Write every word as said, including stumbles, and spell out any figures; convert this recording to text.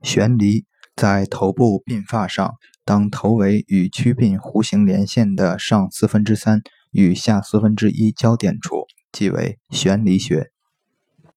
悬离在头部鬓发上，当头围与曲鬓弧形连线的上四分之三与下四分之一交点处，即为悬离穴。